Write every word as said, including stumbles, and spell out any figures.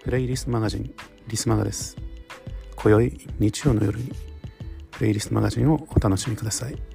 プレイリストマガジンリスマガです。今宵日曜の夜にプレイリストマガジンをお楽しみください。